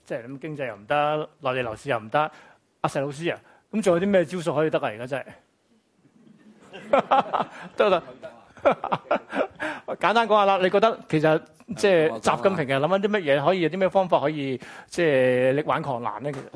即係咁經濟又唔得，內地樓市又唔得。阿石老師啊，咁仲有啲咩招數可以得啊？而家真係得啦。簡單講下啦，你覺得其實即係習近平係諗緊啲乜嘢？可以有啲咩方法可以即係力挽狂瀾咧？其實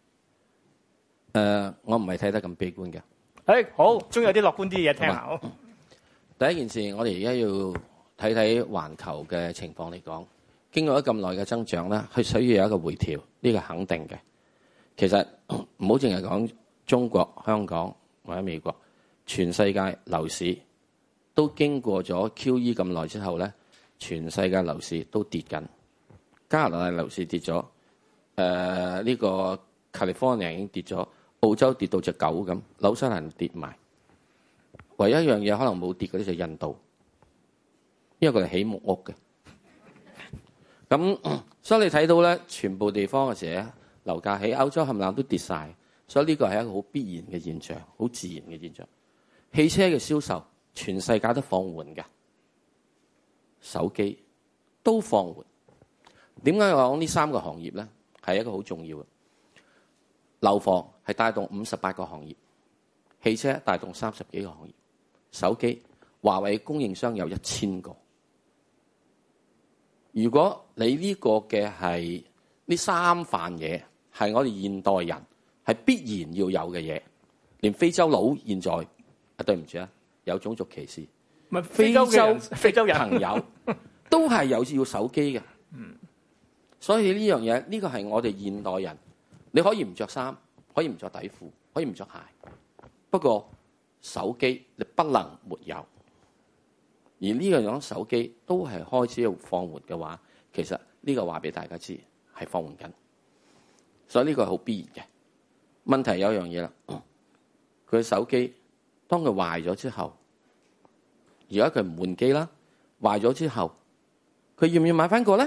我唔係睇得咁悲觀嘅。 好，終於有啲樂觀啲嘢聽下。 第一件事，我哋而家要睇睇環球嘅情況嚟講，經過咗咁耐嘅增長咧，佢需要有一個回調，呢個肯定嘅。其實唔好淨係講中國、香港或者美國，全世界樓市都經過咗 QE 咁耐之後咧，全世界樓市都跌緊。加拿大樓市跌咗，呢個 California 已經跌咗，澳洲跌到隻狗咁，紐西蘭跌埋。唯一一樣嘢可能冇跌嗰啲就係印度，因為佢哋起木屋嘅。咁所以你睇到咧，全部地方嘅時候樓價喺歐洲冚唪唥都跌晒，所以呢個係一個好必然嘅現象，好自然嘅現象。汽車嘅銷售全世界都放緩嘅，手機都放緩。點解我講呢三個行業咧係一個好重要嘅？樓房係帶動58個行業，汽車帶動30幾個行業，手機華為供應商有1000個。如果你呢個嘅係呢三範嘢係我哋現代人係必然要有嘅嘢，連非洲佬現在對唔住啊，有種族歧視， 唔係非洲人朋友都係有要手機嘅。所以呢樣嘢呢個係我哋現代人，你可以唔着衫，可以唔着底褲，可以唔着鞋，不過手機你不能沒有。而呢個樣手機都係開始要放緩嘅話，其實呢個話俾大家知係放緩緊，所以呢個係好必然嘅。問題有樣嘢啦，佢手機當佢壞咗之後，而家佢唔換機啦，壞咗之後，佢要唔要買翻個咧？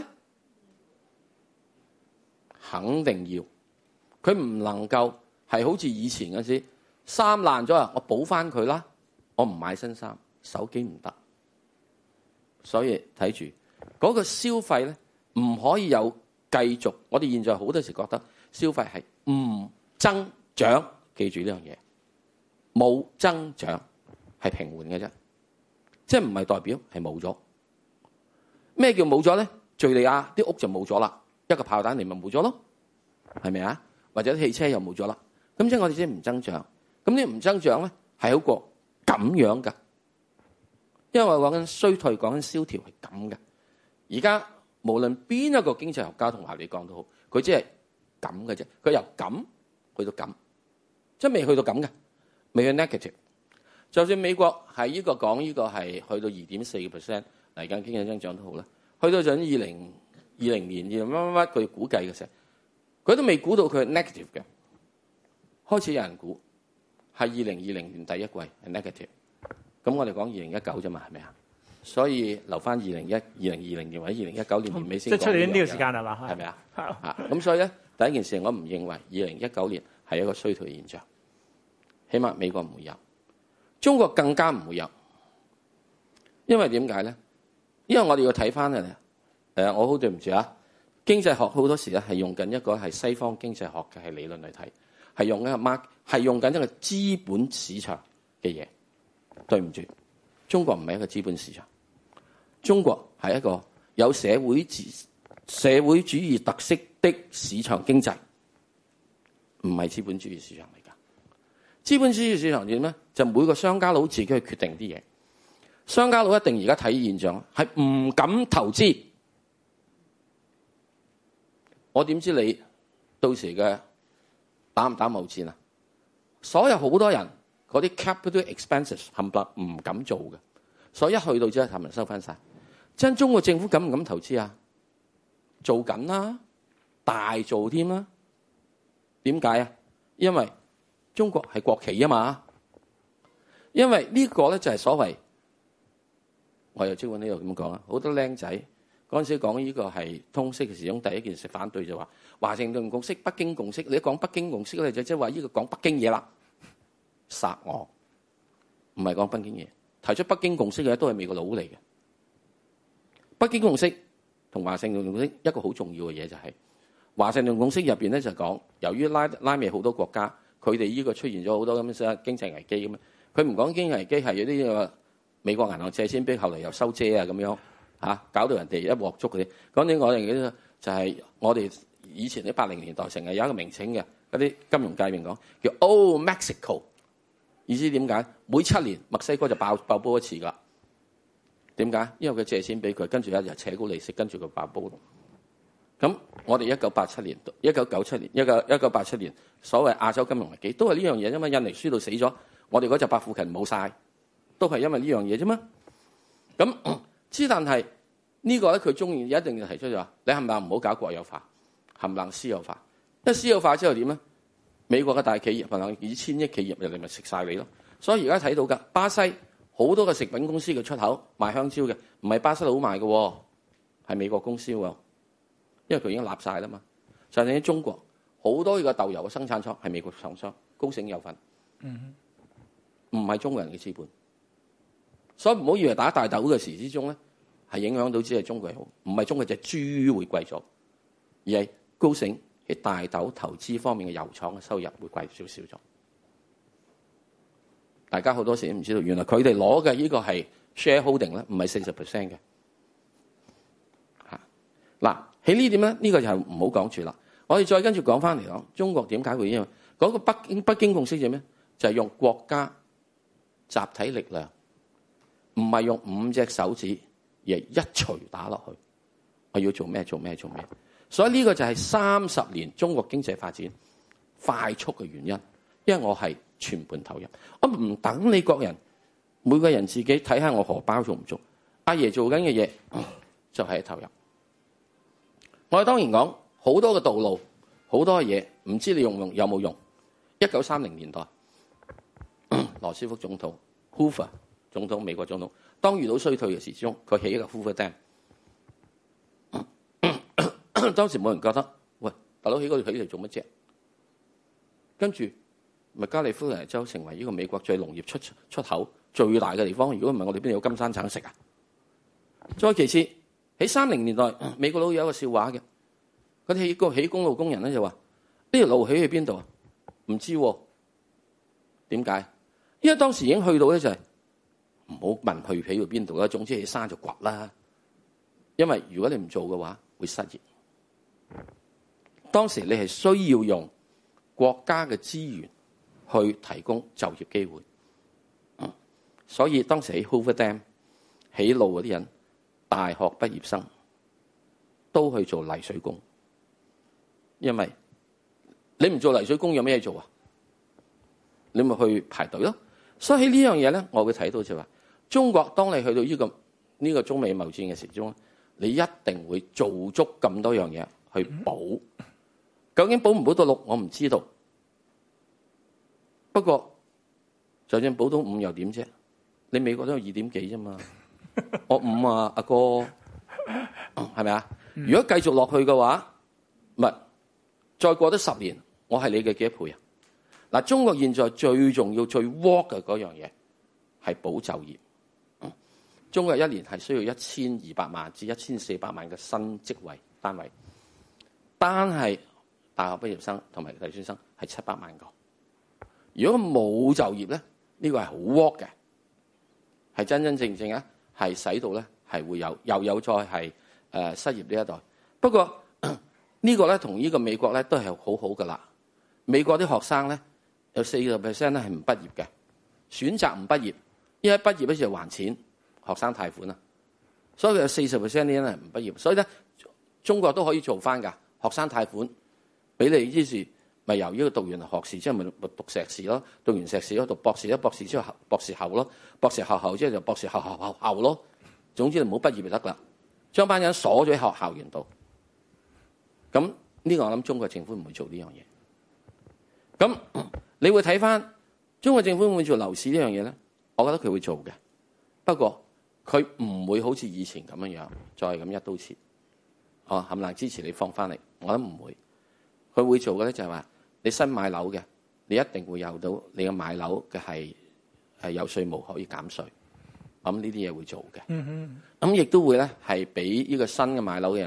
肯定要。佢唔能夠係好似以前嗰時衫爛咗啊，我補翻佢啦，我唔買新衫，手機唔得。所以睇住嗰個消費咧，唔可以有繼續。我哋現在好多時覺得消費係唔增長，記住呢樣嘢，冇增長係平緩嘅啫，即係唔係代表係冇咗。咩叫冇咗咧？敍利亞啲屋就冇咗啦，一個炮彈嚟咪冇咗咯，係咪啊？或者汽車又冇咗啦，咁即係我哋即係唔增長。咁呢唔增長咧係好過咁樣㗎。因為我講緊衰退，講緊蕭條係咁嘅。而家無論邊一個經濟學家同埋你講都好，佢只係咁嘅啫。佢由咁去到咁，即係未去到咁嘅，未去 negative。就算美國係呢個講呢個係去到2.4%嚟緊經濟增長都好啦，去到準2020年乜佢估計嘅時候，佢都未估到佢係 negative 嘅。開始有人估係2020年第一季係 negative。咁我哋講2019啫嘛，係咪啊？所以留翻2020年或者2019年年尾先講。 即係出年呢個時間係嘛？ 係咪啊？咁所以咧，第一件事我唔認為2019年係一個衰退現象，起碼美國唔會有，中國更加唔會有。因為點解咧？因為我哋要睇翻我好對唔住啊，經濟學好多時咧係用緊一個係西方經濟學嘅係理論嚟睇，係用緊一個資本市場嘅嘢。對唔住，中國唔係一個資本市場，中國係一個有社會主義特色的市場經濟，唔係資本主義市場嚟㗎。資本主義市場點咧？就每個商家佬自己去決定啲嘢，商家佬一定而家睇現象係唔敢投資。我點知你到時嘅打唔打貿戰啊？所有好多人。嗰啲 capital expenses 冚唪唥唔敢做嘅，所以一去到之後，冚唪唥收翻晒。真中國政府敢唔敢投資啊？做緊啦，大做添啦。點解啊？因為中國係國企啊嘛。因為呢個咧就係所謂，我又即管呢度咁講啊。好多僆仔嗰陣時講呢個係通識嘅時候，第一件事反對就話華盛頓共識、北京共識。你一講北京共識咧，就即係話呢個講北京嘢啦。殺我，唔係講北京嘢。提出北京共識嘅都係美國佬嚟嘅。北京共識同華盛頓共識一個好重要嘅嘢就係華盛頓共識入邊咧就講，由於拉美好多國家，佢哋呢個出現咗好多咁嘅經濟危機咁啊，佢唔講經濟危機係有啲美國銀行借錢俾，後嚟又收遮啊咁樣嚇，搞到人哋一鑊粥嗰啲。講緊我哋嘅就係我哋以前喺80年代成日有一個名稱嘅嗰啲金融界面講叫 Old Mexico， 意思點解？每7年墨西哥就爆煲一次㗎。點解？因為佢借錢俾佢，跟住一日扯高利息，跟住佢爆煲。咁我哋1987年、1997年、1987年所謂亞洲金融危機都係呢樣嘢啫嘛。印尼輸到死咗，我哋嗰隻百富勤冇晒，都係因為呢樣嘢啫嘛。咁但係呢個咧，佢中意一定要提出就話：你係咪唔好搞國有化，冚唪唥私有化？因為私有化之後點咧？美國嘅大企業，冚唪唥以千億企業入嚟咪食晒你咯。所以而家睇到㗎，巴西好多嘅食品公司嘅出口賣香蕉嘅，唔係巴西佬賣嘅，係美國公司喎。因為佢已經立晒啦嘛。就係喺中國好多個豆油嘅生產廠係美國廠商，高盛有份，唔係中國人嘅資本。所以唔好以為打大豆嘅時之中咧係影響到只係中國好，唔係中國隻豬會貴咗，而係高盛喺大豆投資方面嘅油廠嘅收入會貴少少咗。大家好多時都唔知道，原來佢哋攞嘅呢個係 shareholding 咧，唔係40% 嘅。嗱，喺呢點咧，呢個就係唔好講住啦。我哋再跟住講翻嚟講，中國點解會因為嗰個北京共識係咩？就係用國家集體力量，唔係用5隻手指，而係一錘打落去。我要做咩？做咩？做咩？所以呢個就係30年中國經濟發展快速嘅原因，因為我係全盤投入，我唔等你國人每個人自己睇下我荷包做唔做。阿爺做緊嘅嘢就係投入。我哋當然講好多嘅道路，好多嘅嘢，唔知你有冇用。1930年代，羅斯福總統、Hoover 總統、美國總統，當遇到衰退嘅時鐘，佢起一個 Hoover Dam。當時冇人覺得，喂，大佬起嗰度起嚟做乜啫？跟住咪加利福尼亞州成為呢個美國最農業出口最大嘅地方。如果唔係，我哋邊度有金山橙食啊？再其次，喺30年代，美國佬有一個笑話嘅，佢哋起公路工人咧就話：呢條路起去邊度啊？唔知喎。點解？因為當時已經去到咧就係唔好問去起到邊度啦，總之起山就掘啦。因為如果你唔做嘅話，會失業。當時你係需要用國家嘅資源去提供就業機會，所以當時喺 Hoover Dam 起路嗰啲人，大學畢業生都去做泥水工，因為你唔做泥水工有咩做啊？你咪去排隊咯。所以喺呢樣嘢咧，我會睇到就話，中國當你去到呢個中美貿戰嘅時鐘，你一定會做足咁多樣嘢去補。究竟補唔補到6，我唔知道。不過就算補到5又點啫？你美國都有2點幾啫嘛？我5啊，阿哥，係咪啊？如果繼續落去嘅話，咪再過得10年，我係你嘅幾多倍啊？嗱，中國現在最重要、最 work 嘅嗰樣嘢係保就業。中國1年係需要1200萬至1400萬嘅新職位單位，單係大學畢業生同埋大專生係700萬個。如果冇就業咧，呢個係好 work 嘅，係真真正正啊，係使到咧係會又有再係失業呢一代。不過呢個咧同呢個美國咧都係好好噶啦。美國啲學生咧有40% 咧係唔畢業嘅，選擇唔畢業，因為畢業嗰時就還錢學生貸款啊，所以佢有40% 啲人係唔畢業。所以咧中國都可以做翻㗎，學生貸款俾你，於是咪由呢個讀完學士之後咪讀碩士咯，讀完碩士咯讀博士咯，博士之後博士後咯，博士後之後就博士後咯。總之你唔好畢業就得啦，將班人鎖咗喺學校園度。咁呢個我諗中國政府唔會做呢樣嘢。咁你會睇翻中國政府會唔會做樓市呢樣嘢咧？我覺得佢會做嘅，不過佢唔會好似以前咁樣再咁一刀切。冚唪唥支持你放翻嚟，我諗唔會。佢會做嘅咧就係話，你新買樓嘅，你一定會有到你嘅買樓嘅係有稅務可以減稅。咁呢啲嘢會做嘅。咁亦都會咧係俾呢個新嘅買樓嘅人咧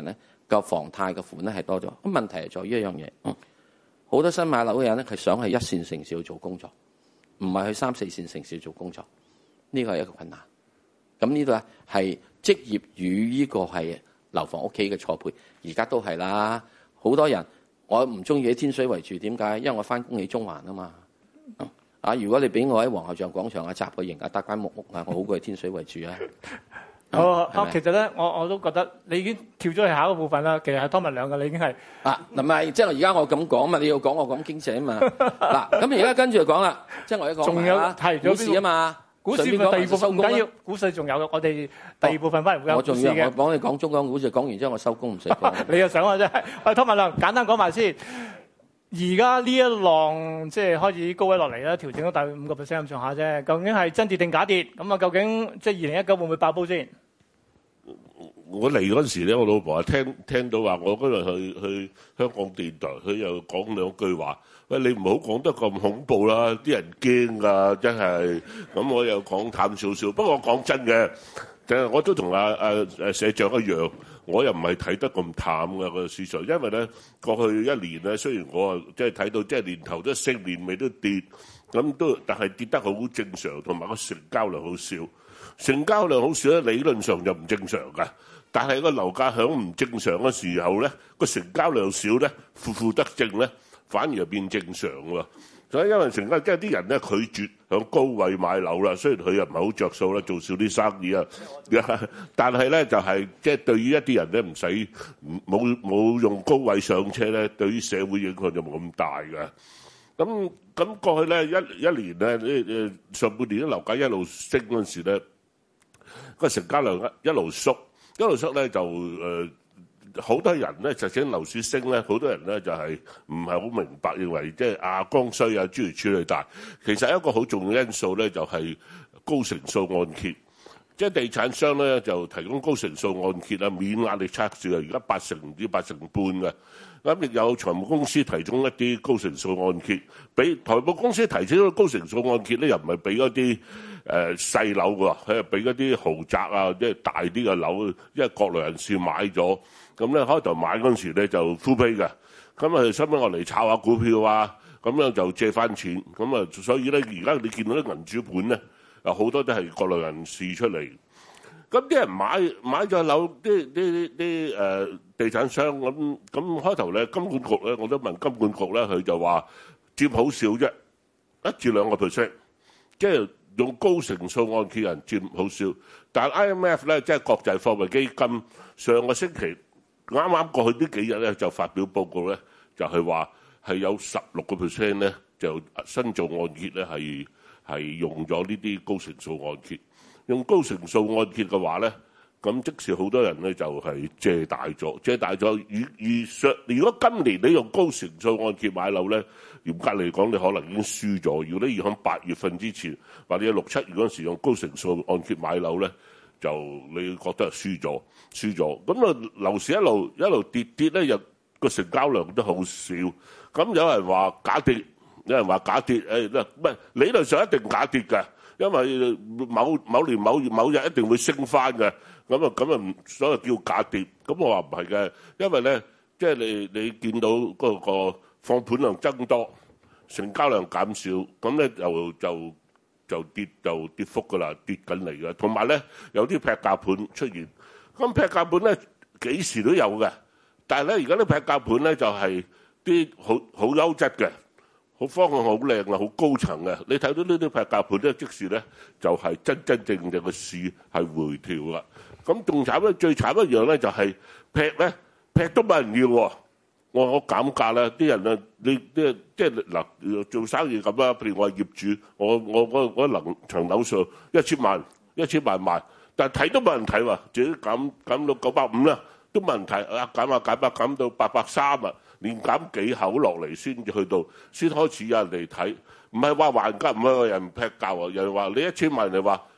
個房貸嘅款咧係多咗。咁問題係在於一樣嘢，好多新買樓嘅人咧，佢想去一線城市去做工作，唔係去3、4線城市做工作，呢個係一個困難。咁呢度咧係職業與呢個係樓房屋企嘅錯配，而家都係啦。好多人我唔中意喺天水圍住，點解？因為我翻工喺中環啊嘛。如果你俾我喺皇后像廣場集個營搭間木屋我好過喺天水圍住啊。 其實咧，我都覺得你已經跳咗去下一個部分啦。其實係湯文亮嘅，你已經係唔係，即係而家我咁講嘛，你要講我講經濟啊嘛。咁而家跟住就講啦，即係我一講仲有提股市啊嘛。 股市嘅第二部分唔緊要，股市仲有嘅，我哋第二部分翻嚟會有股市嘅。 我幫你講中港股市，講完之後我收工唔使講。 你又想啊真係？湯文亮簡單講埋先。而家呢一浪即係開始高位落嚟啦，調整咗大概5%咁上下啫。究竟係真跌定假跌？咁啊，究竟即係2019會唔會爆煲先？ 我嚟嗰陣時咧，我老婆聽到話，我嗰日去香港電台，佢又講兩句話。喂，你唔好講得咁恐怖啦，啲人驚㗎，真係。咁我又講淡少少。不過我講真嘅，我都同社長一樣。我又唔係睇得咁淡嘅個市場，因為咧過去一年咧，雖然我即係睇到即係年頭都升，年尾都跌，咁都但係跌得好正常，同埋個成交量好少。成交量好少咧，理論上就唔正常㗎。但係個樓價響唔正常嘅時候咧，個成交量少咧，負得正咧，反而係變正常喎。所以因為成交即係啲人咧拒絕響高位買樓啦，雖然佢又唔係好着數啦，做少啲生意啊，但係咧就係即係對於一啲人咧唔使冇用高位上車咧，對於社會影響就冇咁大㗎。咁過去咧一年咧上半年啲樓價一路升嗰陣時咧，個成交量一路縮咧就好多人咧，就整樓市升咧，好多人咧就係唔係好明白，認為即係剛需啊諸如此類。但係其實一個好重要因素咧，就係高成數按揭，即係地產商咧就提供高成數按揭啊，免壓力測試啊，而家8成唔知8成半嘅。咁亦有財務公司提供一啲高成數按揭，俾財務公司提供咗高成數按揭咧，又唔係俾嗰啲細樓喎，佢係俾嗰啲豪宅啊，即係大啲嘅樓，因為國內人士買咗。咁咧開頭買嗰陣時咧就 full pay 嘅，咁啊收尾我嚟炒下股票啊，咁樣就借翻錢，咁啊所以咧而家你見到啲銀主盤咧，有好多都係國內人士出嚟，咁啲人買咗樓，啲地產商咁開頭咧金管局咧，我都問金管局咧，佢就話佔好少啫，1至2%，即係用高成數按揭人佔好少，但係 IMF 咧即係國際貨幣基金上個星期。啱啱過去呢幾日咧，就發表報告咧，就係話係有16% 咧，就新做按揭咧係用咗呢啲高成數按揭。用高成數按揭嘅話咧，咁即使好多人咧就係借大咗。如果今年你用高成數按揭買樓咧，嚴格嚟講你可能已經輸咗。如果你要喺8月份之前或者6、7月嗰陣時用高成數按揭買樓咧，就你覺得係輸咗，咁啊樓市一路跌咧，又個成交量都好少。咁有人話假跌，有人話假跌，唔係理論上一定假跌嘅，因為某年某月某日一定會升翻嘅。咁啊，所謂叫假跌。咁我話唔係嘅，因為咧，即係你見到嗰個放盤量增多，成交量減少，咁咧就跌幅㗎啦，跌緊嚟㗎。同埋咧，有啲劈價盤出現。咁劈價盤咧幾時都有嘅，但係咧而家啲劈價盤咧就係啲好優質嘅，好方向好靚嘅，好高層嘅。你睇到呢啲劈價盤咧，即時咧就係真正嘅市係回調啦。咁仲慘咧，最慘一樣咧就係劈都冇人要喎。我減價啦，啲人啊，你即係嗱做生意咁啦。譬如我係業主，我層樓上1000萬賣，但係睇都冇人睇喎，自己減到950啦，都冇人睇啊！減到830啊，連減幾口落嚟先開始有人嚟睇，唔係話還價，唔係話人劈價喎，人話你1000萬，人話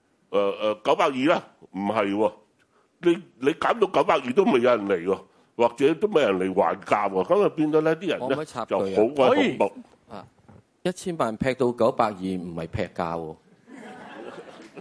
920啦，唔係喎，你減到920都未有人嚟喎。或者都冇人嚟還價喎，咁就變咗咧啲人咧就好鬼恐怖。 1000萬劈到920唔係劈價喎，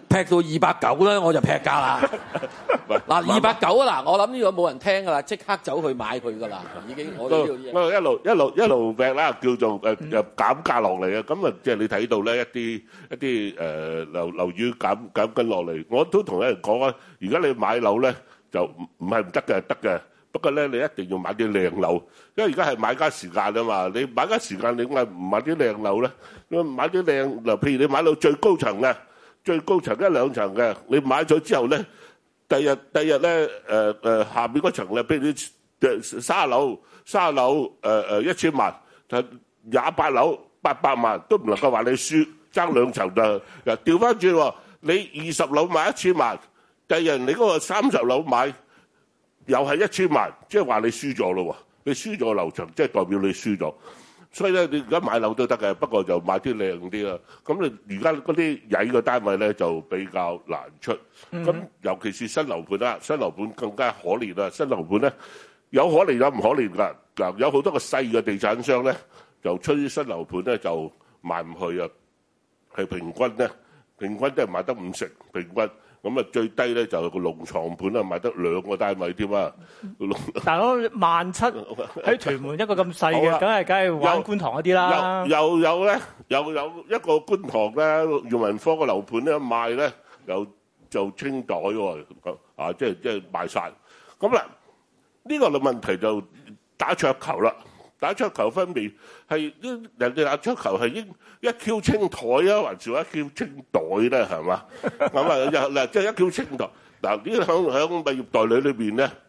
劈到290咧，我就劈價啦。嗱290啊，嗱我諗呢個冇人聽噶啦，即刻走去買佢噶啦，已經我哋呢度一路劈啦，叫做減價落嚟啊！咁啊，即係你睇到咧一啲樓宇減緊落嚟，我都同人講啊，而家你買樓咧就唔係唔得嘅，得嘅。不過咧，你一定要買啲靚樓，因為而家係買家時間啊嘛。你買家時間，你點解唔買啲靚樓咧？你買啲靚嗱，譬如你買到最高層嘅，最高層1、2層嘅，你買咗之後咧，第日咧下邊嗰層咧，譬如你30樓1000萬，就28樓800萬，都唔能夠話你輸，爭2層就調翻轉喎。你20樓買1000萬，第日你嗰個30樓買。又係1000萬，即係話你輸咗咯喎！你輸咗樓層，即係代表你輸咗。所以咧，你而家買樓都得嘅，不過就買啲靚啲啦。咁你而家嗰啲曳嘅單位咧就比較難出。咁尤其是新樓盤啦，新樓盤更加可憐啦。新樓盤咧有可憐有唔可憐㗎。嗱，有好多個細嘅地產商咧就出啲新樓盤咧就賣唔去啊，係平均都係賣得50成平均。咁啊，最低咧就係個龍床盤啊，賣得2個單位添啊！ 大佬17000喺屯門一個咁細嘅，梗係玩觀塘嗰啲啦。又有一個觀塘咧，裕民坊個樓盤咧賣咧，又就清袋喎，啊，即係賣晒。咁啦，呢個嘅問題就打桌球啦。打桌球分別係人哋打桌球係應一 Q 清台啊，還是一 Q 清袋咧？係嘛？咁啊，嗱，即係一 Q 清台。嗱，呢響物業代理裏邊咧，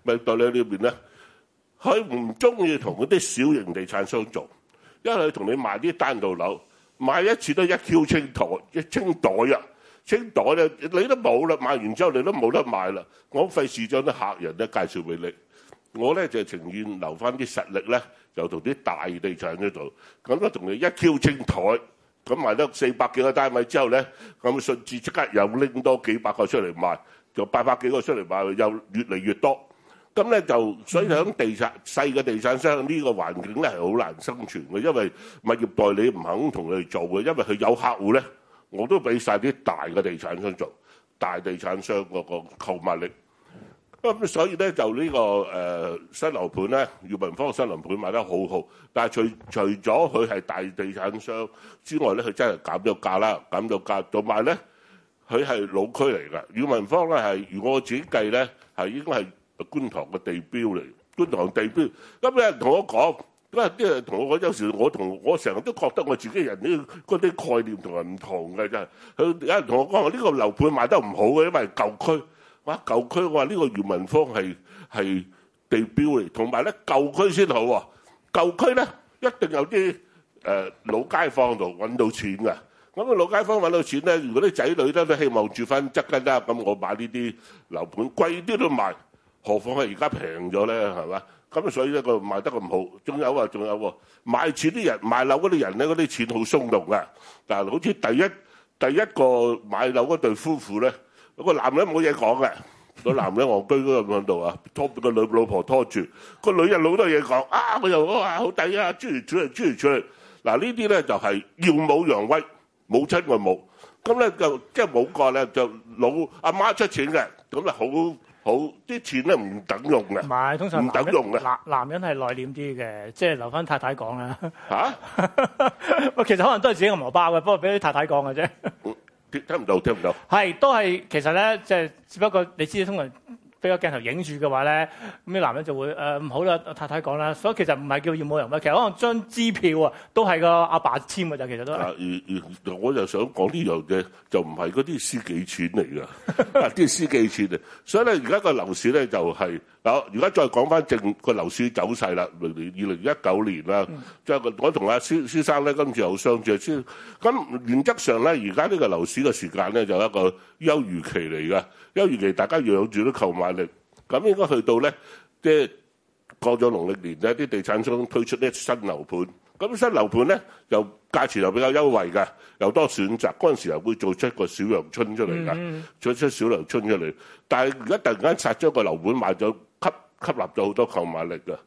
佢唔中意同嗰啲小型地產商做，因為佢同你賣啲單棟樓，賣一次都一 Q 清台，一清袋啊！清袋咧，你都冇啦，賣完之後你都冇得賣啦。我費事將啲客人咧介紹俾你。我咧就情願留翻啲實力咧，就同啲大地產嗰度，咁咧同你一 Q 清台，咁賣得400幾個單位之後咧，咁順治即刻又拎多幾百個出嚟賣，就800幾個出嚟賣，又越嚟越多。咁咧就所以喺細嘅地產商呢個環境咧係好難生存嘅，因為物業代理唔肯同佢做嘅，因為佢有客戶咧，我都俾晒啲大嘅地產商做，大地產商嗰個購買力。咁所以咧就呢個新樓盤咧，裕民坊新樓盤賣得好好，但係除咗佢係大地產商之外咧，佢真係減咗價啦，減咗價，同埋咧佢係老區嚟㗎。裕民坊咧係如果我自己計咧係應該係觀塘嘅地標嚟，觀塘地標。咁有人同我講，因為啲人同我講，有時我成日都覺得我自己人嗰啲概念同人唔同嘅真係。佢有人同我講話呢個樓盤賣得唔好嘅，因為舊區。哇！舊區我話呢個裕民坊係地標嚟，同埋咧舊區先好喎。舊區咧一定有啲老街坊度揾到錢㗎。咁啊老街坊揾到錢咧，如果啲仔女咧都希望住翻側根啦，咁我買呢啲樓盤貴啲都賣，何況係而家平咗咧，係嘛？咁所以咧個賣得咁好。仲有喎，賣錢啲人賣樓嗰啲人咧，嗰啲錢好鬆動㗎。但係好似第一個買樓嗰對夫婦咧。個男人冇嘢講嘅，個男人戇居嗰個喺度啊，拖個老婆拖住，個女人好多嘢講啊！我又話好抵啊，諸如此類。嗱呢啲咧就係耀武揚威，母親個母，咁咧就即係冇個咧就老阿媽出錢嘅，咁咧好啲錢咧唔等用嘅， 唔係通常唔等用嘅。 男人係內斂啲嘅，即係留翻太太講啦。 嚇？ 其實可能都係自己個荷包嘅，不過俾啲太太講嘅啫。 聽唔到。 係，都係其實咧，即係只不過你知通常俾個鏡頭影住嘅話咧，咁啲男人就會唔好啦，太太講啦。所以其實唔係叫耀武揚威，其實可能張支票啊都係個阿爸簽嘅咋，其實都係。 我就想講呢樣嘢，就唔係嗰啲私己錢嚟㗎，啲私己錢啊。所以咧，而家個樓市咧就係嗱，而家再講翻正個樓市走勢啦。2019年啦，即係我同阿先生咧今次有相處先。咁原則上咧，而家呢個樓市嘅時間咧就係一個休漁期嚟㗎。休漁期大家養住啲購買力，咁應該去到咧，即係過咗農曆年咧，啲地產商推出啲新樓盤。咁新樓盤咧又價錢又比較優惠㗎，又多選擇。嗰陣時又會做出一個小陽春出嚟㗎，做出小陽春出嚟。但係而家突然間殺咗個樓盤賣咗，吸納咗好多購買力㗎。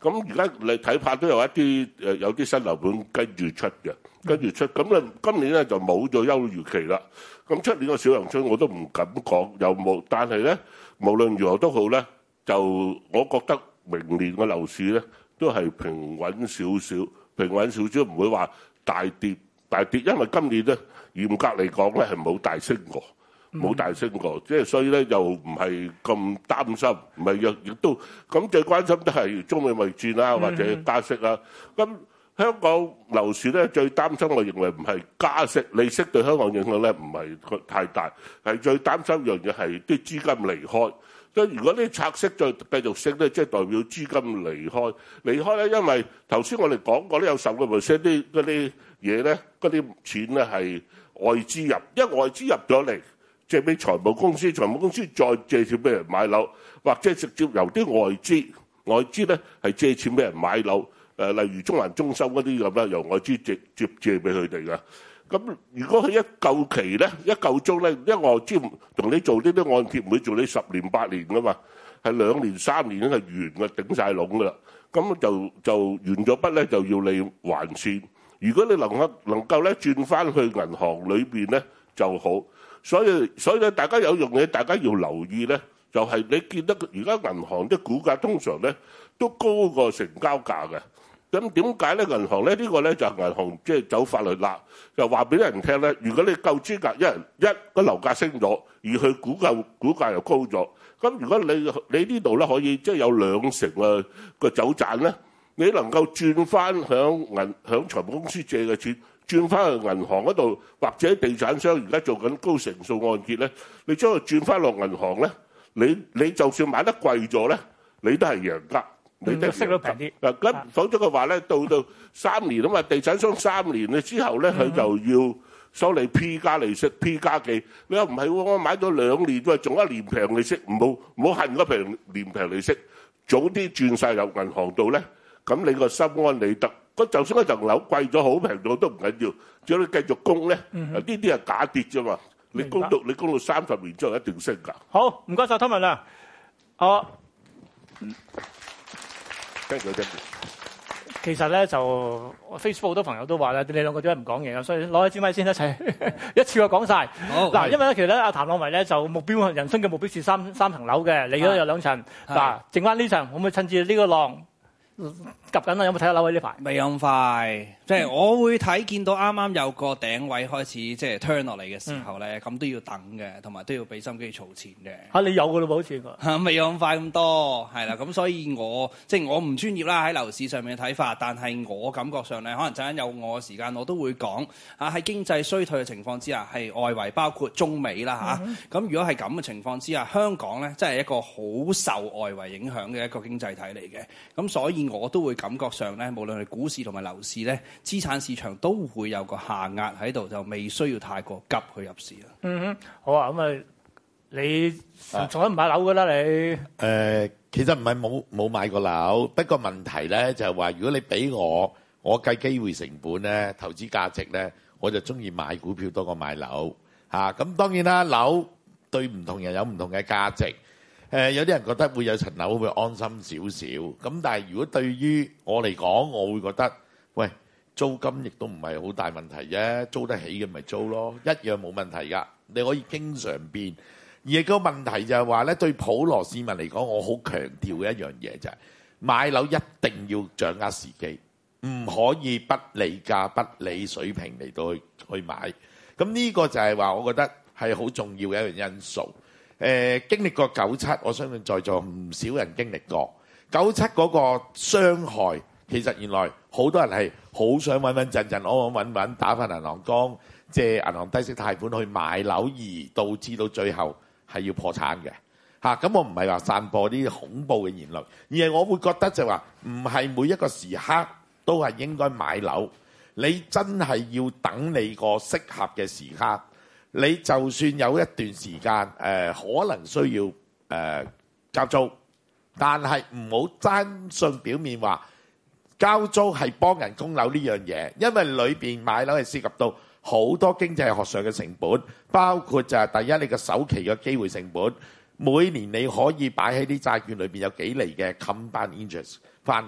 咁而家你睇怕都有一啲有啲新樓盤跟住出嘅，咁咧今年咧就冇咗休漁期啦。咁出年個小陽春我都唔敢講有冇，但係咧無論如何都好咧，就我覺得明年個樓市咧都係平穩少少，唔會話大跌，因為今年咧嚴格嚟講咧係冇大升過，即係所以咧又唔係咁擔心，唔係亦都咁最關心都係中美貿易戰啦，或者加息啦。咁香港樓市咧最擔心，我認為唔係加息，利息對香港影響咧唔係太大，係最擔心一樣嘢係啲資金離開。即係如果啲拆息再繼續升咧，即係代表資金離開咧，因為頭先我哋講過咧，有10%啲嗰啲嘢咧，嗰啲錢咧係外資入，因為外資入咗嚟借俾財務公司再借錢俾人買樓，或者直接由啲外資咧係借錢俾人買樓，例如中環中心嗰啲咁啦，由外資直接借俾佢哋嘅。咁如果佢一嚿期咧，一嚿鐘咧，因為外資同你做呢啲按揭唔會做你10年8年噶嘛，係2年3年已經係完嘅，頂晒籠噶啦。咁就完咗筆咧，就要你還錢。如果你能夠咧轉翻去銀行裏邊咧就好。所以咧，大家有樣嘢大家要留意咧，就係你見得而家銀行啲股價通常咧都高過成交價嘅。咁點解咧？銀行咧呢個咧就係銀行即係走法律啦，就話俾人聽咧。如果你夠資格，一個樓價升咗，而佢股價又高咗，咁如果你呢度咧可以即係有20%嘅走賺咧，你能夠轉翻響財務公司借嘅錢，轉翻去銀行嗰度，或者地產商而家做緊高成數按揭咧，你將佢轉翻落銀行咧，你就算買得貴咗咧，你都係贏家。你得息率平啲。 咁否則嘅話咧，到3年啊嘛，地產商3年咧之後咧，佢就要收你 P 加利息 P 加幾。你話唔係喎，我買咗2年，喂，仲1年平利息，唔好恨嗰年平利息，早啲轉晒入銀行度咧，咁你個心安理得。就算一層樓貴咗好平咗都唔緊要，只要你繼續供咧，呢啲係假跌啫嘛。你供到30年之後一定升㗎。 好，唔該曬湯文亮。其實咧就 Facebook 好多朋友都話咧，你兩個點解唔講嘢啊？所以攞起支咪先一齊一次過講晒。嗱，因為咧其實咧阿譚朗維咧就人生嘅目標是三層樓嘅，你嗰有2層。嗱，剩翻呢層，可唔可以趁住呢個浪夾緊啦？有冇睇下樓位呢排？ 未咁快，即係我會見到啱啱有個頂位開始即係 turn 落嚟嘅時候咧，咁都要等嘅，同埋都要俾心機儲錢嘅。 你有㗎咯喎，好似未有咁快咁多，係啦。咁所以我唔專業啦喺樓市上面嘅睇法，但係我感覺上咧，可能陣間有我嘅時間，我都會講喺經濟衰退嘅情況之下，係外圍包括中美啦嚇。咁如果係咁嘅情況之下，香港咧真係一個好受外圍影響嘅一個經濟體嚟嘅。咁所以我都會感覺上咧，無論係股市同埋樓市咧，資產市場都會有個下壓喺度，就未需要太過急去入市啦。 好啊，咁啊，你從來唔買樓㗎啦，你？ 其實唔係冇買過樓，不過問題咧就係話，如果你俾我計機會成本咧、投資價值咧，我就中意買股票多過買樓嚇。咁當然啦，樓對唔同人有唔同嘅價值。有啲人覺得會有層樓會安心少少，咁但係如果對於我嚟講，我會覺得，喂，租金亦都唔係好大問題啫，租得起嘅咪租咯，一樣冇問題㗎，你可以經常變。而個問題就係話咧，對普羅市民嚟講，我好強調嘅一樣嘢就係買樓一定要掌握時機，唔可以不理價、不理水平嚟到去買。咁呢個就係話，我覺得係好重要嘅一樣因素。經歷過97，我相信在座唔少人經歷過97嗰個傷害。其實原來好多人係好想穩穩陣陣、安安穩穩打返銀行工，借銀行低息貸款去買樓，而導致到最後係要破產嘅嚇。咁我唔係話散播啲恐怖嘅言論，而係我會覺得就話唔係每一個時刻都係應該買樓，你真係要等你個適合嘅時刻。你就算有一段時間可能需要交租，但係唔好單信表面話交租係幫人供樓呢樣嘢，因為裏邊買樓係涉及到好多經濟學上嘅成本，包括就係第一你個首期嘅機會成本，每年你可以擺喺啲債券裏邊有幾厘嘅 compound interest 翻嚟，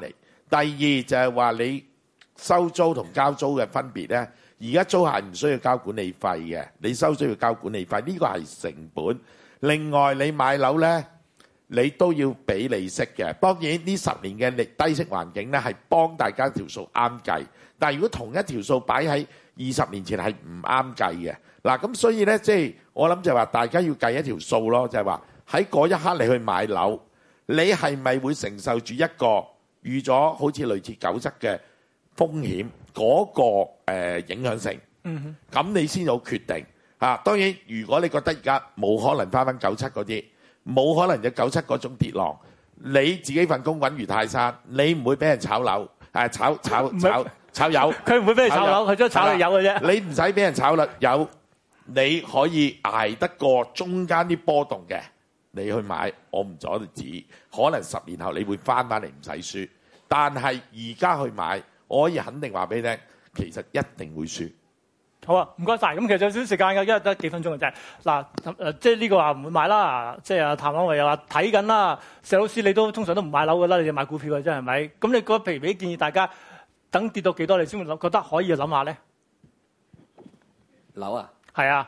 第二就係話你收租同交租嘅分別咧。而家租客唔需要交管理費嘅，你收租要交管理費，呢個係成本。另外你買樓咧，你都要俾利息嘅。當然呢10年嘅低息環境咧，係幫大家條數啱計。但係如果同一條數擺喺20年前係唔啱計嘅。嗱，咁所以咧，即係我諗就係話大家要計一條數咯，就係話喺嗰一刻你去買樓，你係咪會承受住一個預咗好似類似97嘅風險嗰個影響性？咁你先有決定嚇。當然，如果你覺得而家冇可能翻97嗰啲，冇可能有97嗰種跌浪，你自己份工穩如泰山，你唔會俾人炒樓，炒油。佢唔會俾你炒樓，佢都炒你油嘅啫。你唔使俾人炒啦，油你可以捱得過中間啲波動嘅，你去買，我唔阻你指，可能10年後你會翻嚟唔使輸。但係而家去買，我可以肯定話俾你聽，其實一定會輸。 好啊，唔該晒。咁其實有少少時間嘅，因為得幾分鐘嘅啫。嗱，即係呢個話唔會買啦。即係阿譚朗維又話睇緊啦。石老師你都通常都唔買樓㗎啦，你就買股票嘅啫係咪？咁你覺得譬如俾建議大家等跌到幾多你先會覺得可以諗下咧？ 樓啊？ 係啊。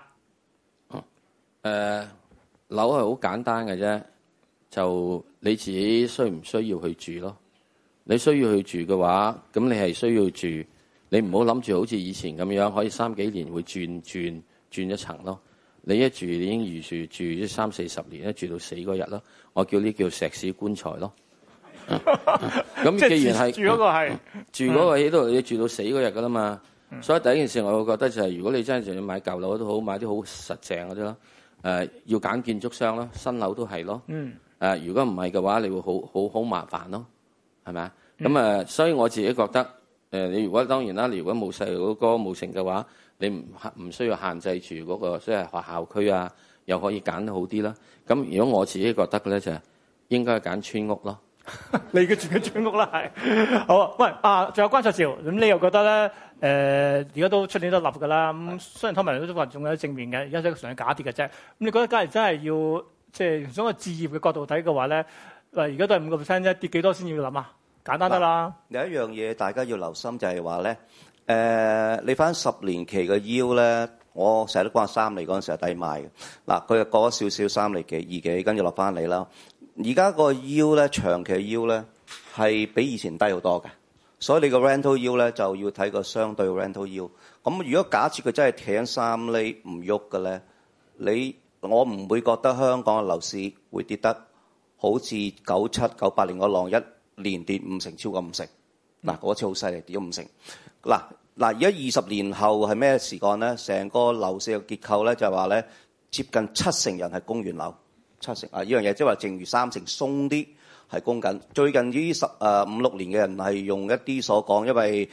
樓係好簡單嘅啫，就你自己需唔需要去住咯？你需要去住嘅話，咁你係需要住。你唔好諗住好似以前咁樣，可以3幾年會轉一層咯。你一住，你已經預住咗30-40年，一住到死嗰日咯。我叫呢叫石屎棺材咯。咁既然係住嗰個係住嗰個喺度，你住到死嗰日噶啦嘛。所以第一件事，我會覺得就係、如果你真係仲要買舊樓都好，買啲好實淨嗰啲咯。要揀建築商咯，新樓都係咯。如果唔係嘅話，你會好麻煩咯，係咪啊？咁所以我自己覺得。你如果當然啦，你如果冇細路哥冇成嘅話，你唔需要限制住嗰個即係學校區啊，又可以揀得好啲啦。咁如果我自己覺得嘅咧，就係應該揀村屋咯。 你嘅住嘅村屋啦，係好啊。喂仲有關焯照，咁你又覺得咧？而家都出年都立㗎啦。咁雖然湯文都話仲有正面嘅，而家都係純係假跌嘅啫。咁你覺得假如真係要即係從個置業嘅角度睇嘅話咧，而家都係5%啫，跌幾多先要諗啊？簡單得啦。有一樣嘢大家要留心就係話咧，你翻10年期嘅 yield 咧，我成日都講3厘嗰陣時係抵買嘅。嗱，佢又過咗少少3厘幾2幾，跟住落翻嚟啦。而家個 yield 咧，長期嘅 yield 咧係比以前低好多嘅，所以你個 rental yield 咧就要睇個相對 rental yield。咁如果假設佢真係企喺3厘唔喐嘅咧，我唔會覺得香港嘅樓市會跌得好似97、98年嗰浪一連跌5成，超過5成。嗱，嗰次好犀利，跌咗5成。嗱，而家20年後係咩時間咧？成個樓市嘅結構咧就係話咧，接近7成人係供完樓，7成啊！呢樣嘢即係話，剩餘3成鬆啲係供緊。最近呢5-6年嘅人係用一啲所講，因為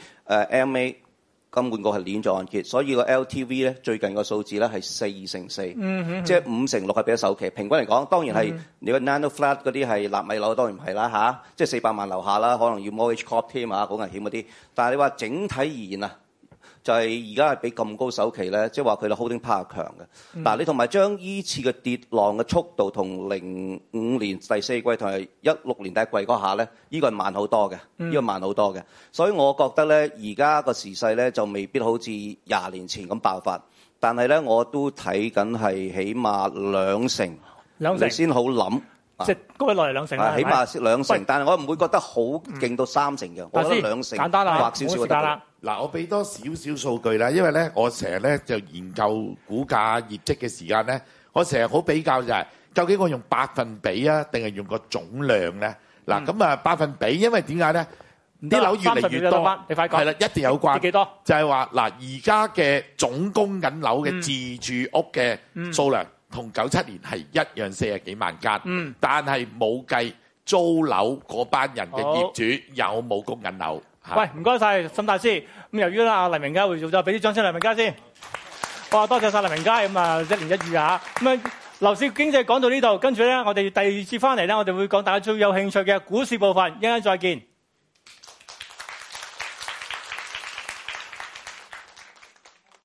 MA 金管局係鏈咗按揭，所以個 LTV 咧最近個數字咧係4成4，即係5成6係俾咗首期。平均嚟講，當然係你個 nano flat 嗰啲係納米樓，當然唔係啦嚇，即係400萬樓下啦，可能要 mortgage corp 添啊，好危險嗰啲。但係你話整體而言啊，就係而家係俾咁高首期咧，即係話佢嘅 holding power 強嘅。嗱，你同埋將依次嘅跌浪嘅速度同05年第4季同埋16年第一季嗰下咧，呢個係慢好多嘅，呢個慢好多嘅。所以我覺得咧，而家個時勢咧就未必好似20年前咁爆發，但係咧我都睇緊係起碼2成，你先好諗。即係高位落嚟2成啦，起碼2成，但係我唔會覺得好勁到3成嘅，我覺得2成簡單啦，或少少就得啦。 嗱，我俾多少少數據啦，因為咧，我成日咧就研究股價業績嘅時間咧，我成日好比較就係究竟我用百分比啊，定係用個總量咧？嗱，咁啊百分比，因為點解咧？啲樓越嚟越多，係啦，一定有關。幾多？就係話嗱，而家嘅總供緊樓嘅自住屋嘅數量，同97年係一樣40幾萬間，但係冇計租樓嗰班人嘅業主有冇供緊樓。喂，唔該晒沈大師。咁由於咧阿黎明家會做咗，俾啲掌聲黎明家先。哇，多謝晒黎明家。咁啊，一年一遇啊。咁啊，樓市經濟講到呢度，跟住咧，我哋第二次翻嚟咧，我哋會講大家最有興趣嘅股市部分。一陣間再見。